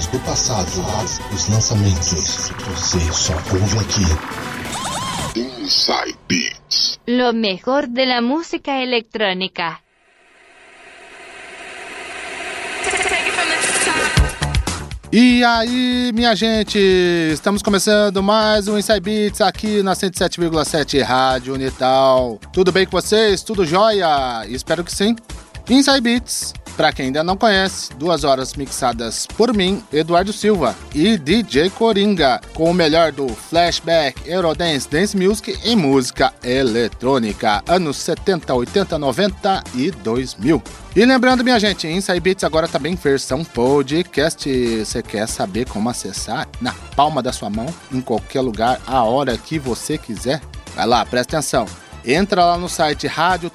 músicas do passado, os lançamentos, você só ouve aqui. Inside Beats. Lo mejor de la música electrónica. E aí, minha gente, estamos começando mais um Inside Beats aqui na 107,7 Rádio Unital. Tudo bem com vocês? Tudo jóia? Espero que sim. Inside Beats, pra quem ainda não conhece, 2 horas mixadas por mim, Eduardo Silva, e DJ Coringa, com o melhor do flashback, Eurodance, Dance Music e música eletrônica, anos 70, 80, 90 e 2000. E lembrando, minha gente, Inside Beats agora também versão podcast. Você quer saber como acessar? Na palma da sua mão, em qualquer lugar, a hora que você quiser. Vai lá, presta atenção. Entra lá no site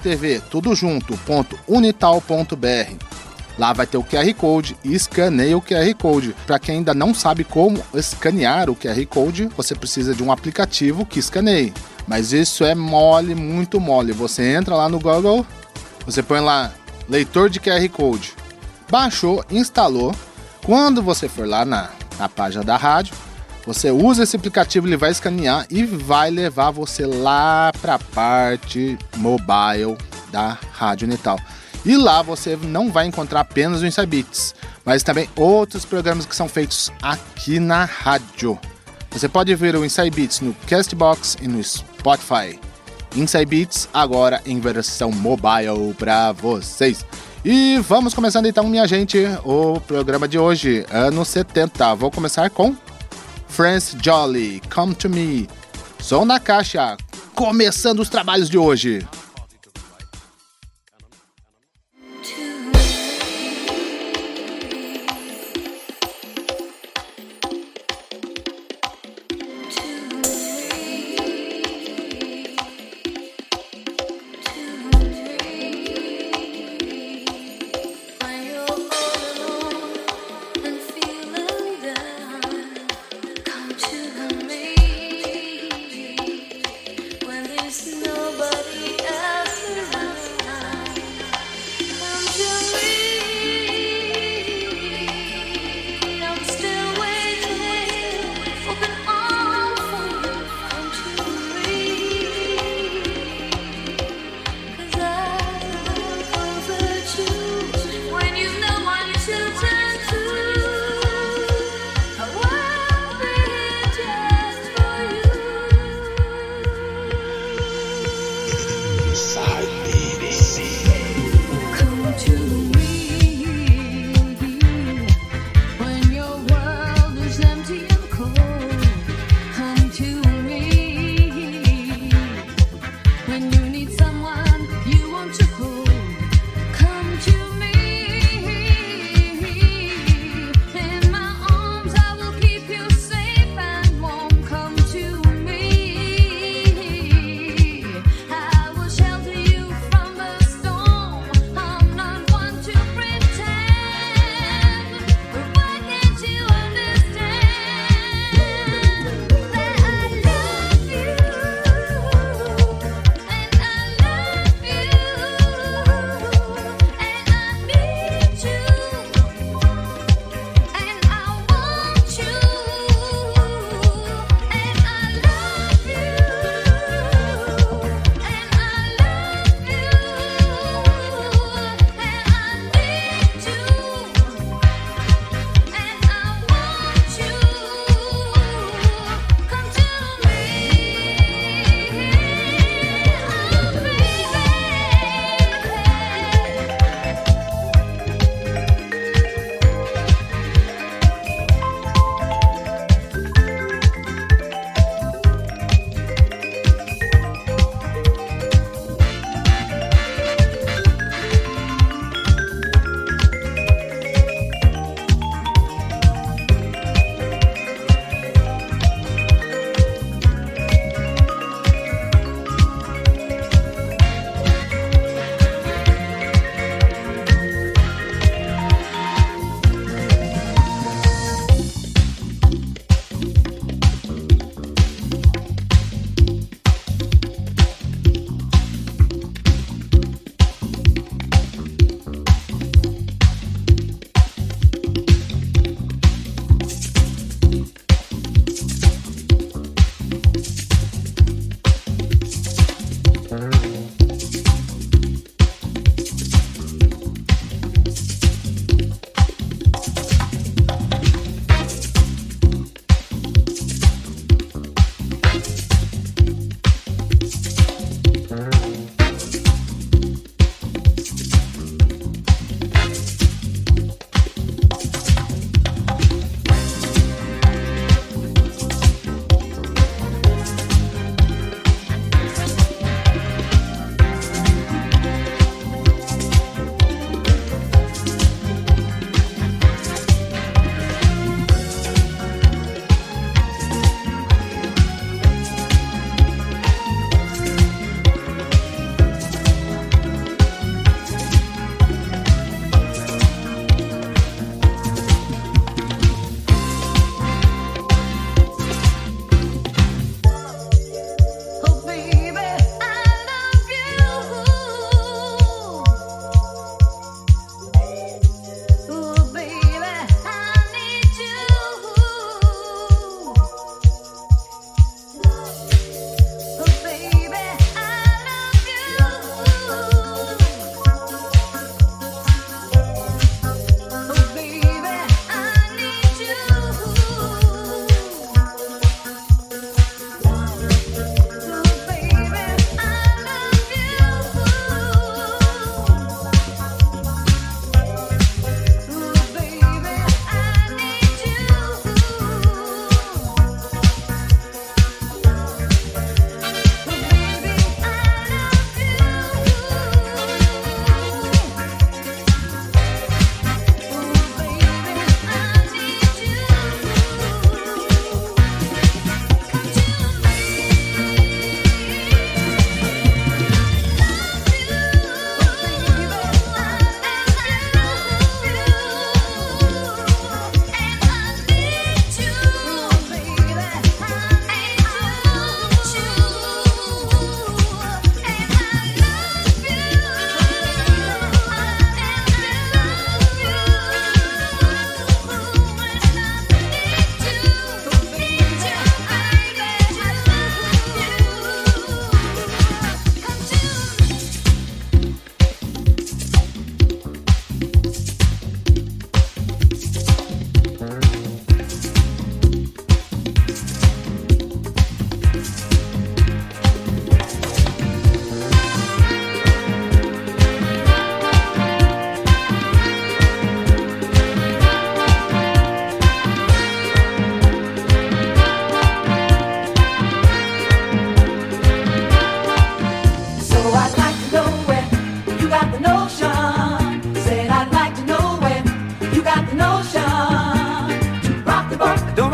radiotv.unital.br. Lá vai ter o QR Code e escaneia o QR Code. Para quem ainda não sabe como escanear o QR Code, você precisa de um aplicativo que escaneie. Mas isso é mole, muito mole. Você entra lá no Google, você põe lá leitor de QR Code. Baixou, instalou. Quando você for lá na página da rádio, você usa esse aplicativo, ele vai escanear e vai levar você lá para a parte mobile da Rádio Unital. E lá você não vai encontrar apenas o Inside Beats, mas também outros programas que são feitos aqui na rádio. Você pode ver o Inside Beats no Castbox e no Spotify. Inside Beats agora em versão mobile para vocês. E vamos começando então, minha gente, o programa de hoje, anos 70. Vou começar com France Jolly, Come to Me. Som na caixa, começando os trabalhos de hoje. Nobody else.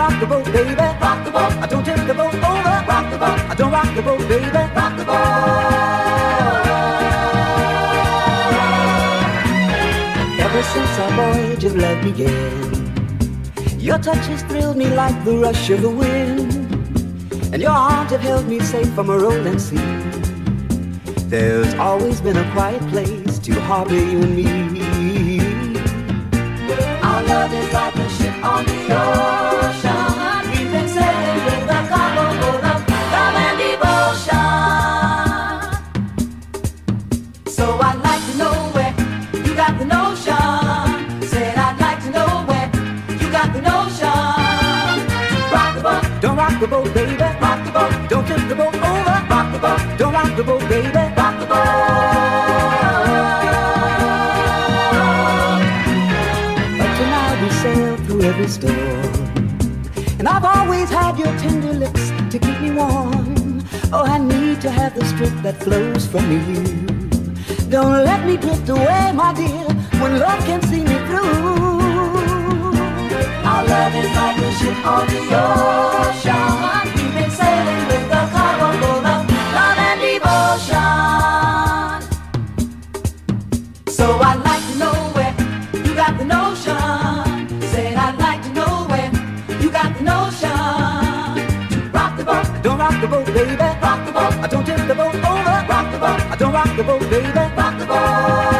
rock the boat, baby. Rock the boat. I don't tip the boat over. Rock the boat. I don't rock the boat, baby. Rock the boat. Ever since our voyage of love began, your touch has thrilled me like the rush of the wind, and your arms have held me safe from a rolling sea. There's always been a quiet place to harbor you and me. Our love is like a ship on the ocean. We've been sailing with a cargo full of love and devotion. So I'd like to know where you got the notion. Said I'd like to know where you got the notion. Rock the boat, don't rock the boat, baby. Rock the boat, don't tip the boat over. Rock the boat, don't rock the boat, baby. Rock the boat. Up to now we sailed through every storm, and I've always had your tender lips to keep me warm. Oh, I need to have the strength that flows from you. Don't let me drift away, my dear, when love can see me through. Our love is like a ship on the ocean. We've been sailing with a cargo full of love and devotion. So I'd like to know where you got the notion. Said I'd like to know where you got the notion. Rock the boat, don't rock the boat, baby. Rock the boat, I don't tip the boat over. Rock the boat, I don't rock the boat, baby. Rock the boat.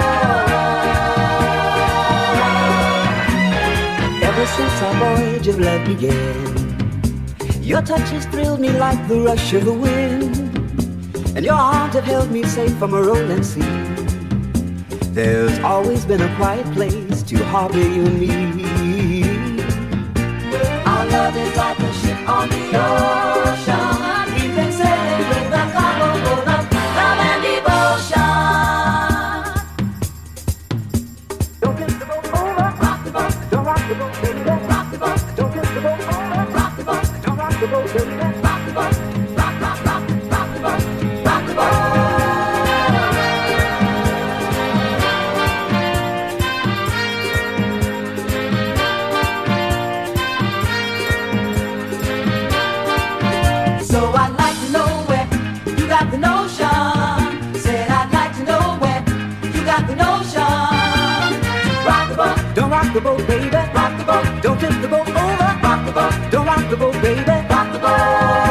Ever since our voyage of love began, your touch has thrilled me like the rush of the wind, and your arms have held me safe from a rolling sea. There's always been a quiet place to harbor you and me. Our love is like a ship on the ocean. We've been sailing with a cargo full of love and devotion. Don't tip the boat over. Rock the boat. Don't rock the boat, baby. Rock the boat. Don't tip the boat over. Rock the boat. Don't rock the boat, baby. Rock the boat. Rock, rock, rock, rock the boat. Rock the boat. So I'd like to know where you got the notion. Said I'd like to know where you got the notion. Rock the boat, don't rock the boat, baby. Rock the boat, don't tip the boat over. Rock the boat, don't rock the boat, baby. Rock the boat.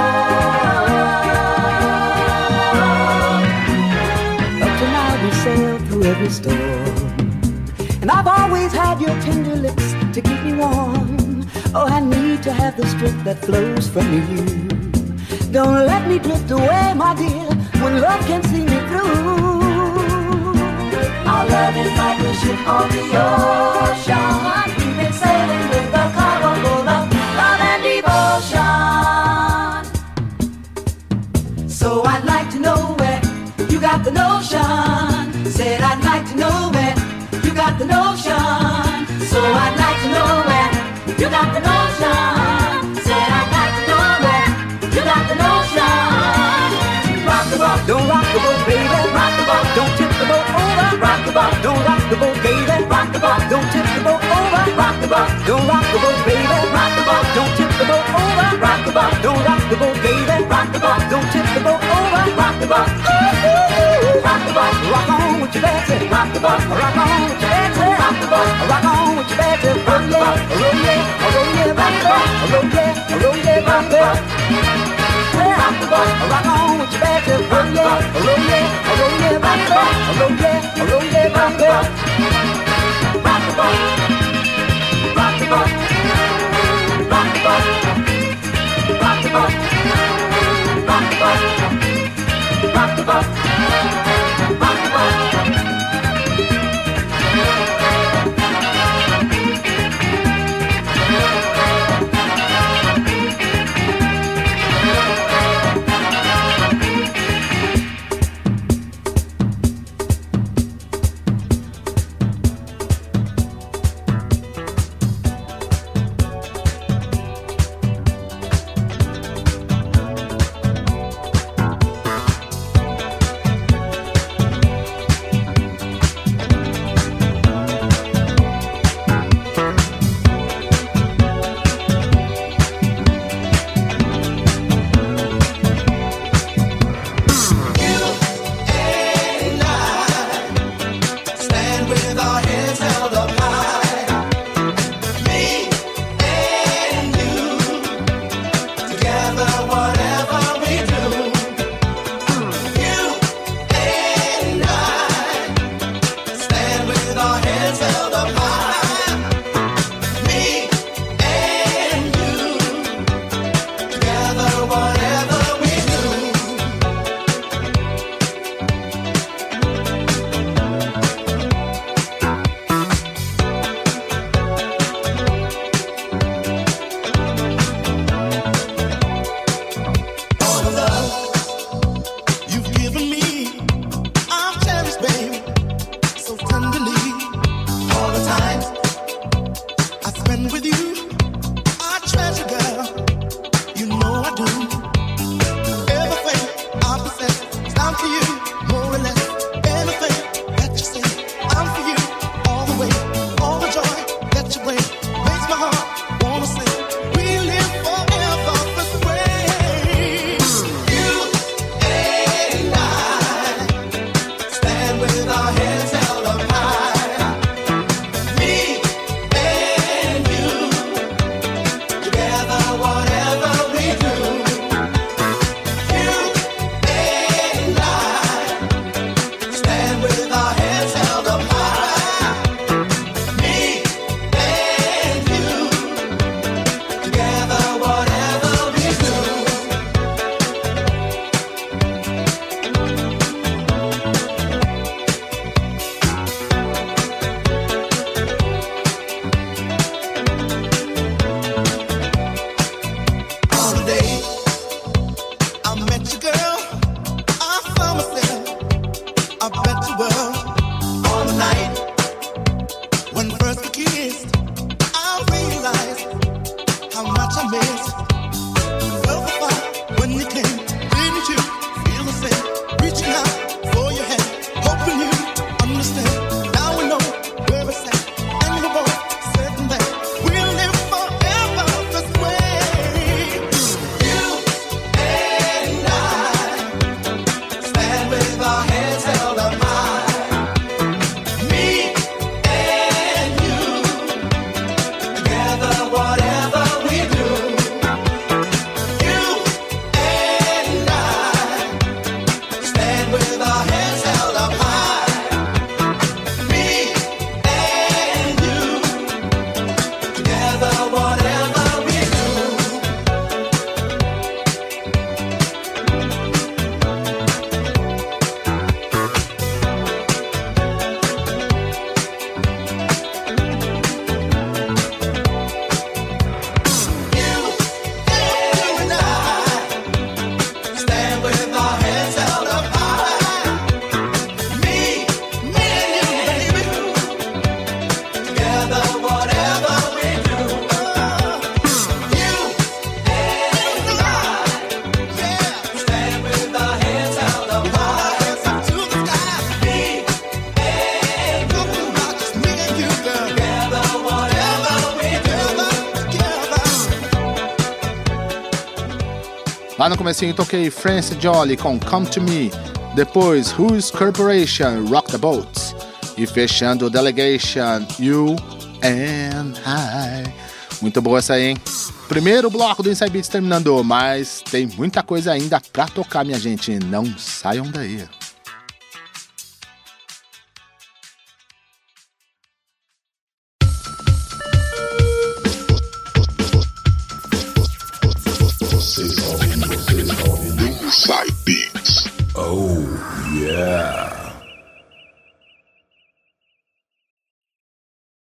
Up to now we sailed through every storm, and I've always had your tender lips to keep me warm. Oh, I need to have the strength that flows from you. Don't let me drift away, my dear, when love can see me through. Our love is like a ship on the ocean. We've been sailing with a cargo full of love and devotion. So I'd like to know where you got the notion. Said I'd like to know where you got the notion. So I'd like to know where you got the notion. Said I'd like to know where you got the notion. Rock the boat, don't rock the boat, baby. Rock the boat, don't tip the boat over. Rock the boat, don't rock the boat, baby. Rock the boat, don't tip the boat over. Rock the boat, don't rock the boat, baby. Rock the boat, don't tip the boat over. Rock the boat, don't rock the boat, baby. Rock the boat, don't tip the boat over. Rock the boat, rock the boat, rock on with your Betsy. Rock the boat, rock on with your Betsy. Rock the boat, rock on with your Betsy. Roll yeah, roll yeah, roll yeah, rock the boat, roll yeah, roll yeah, rock the boat. Rock the boat, rock on with your Betsy. Roll yeah, roll yeah, roll yeah, rock the boat, roll yeah, roll yeah, rock the boat. Rock the boat, rock the boat, rock the boat, rock the boat, rock the boat, rock the boat, rock the boat. Lá no comecinho toquei Francis Jolly com Come To Me, depois Who's Corporation, Rock the Boat, e fechando Delegation, You and I. Muito boa essa aí, hein? Primeiro bloco do Inside Beats terminando, mas tem muita coisa ainda pra tocar, minha gente, não saiam daí.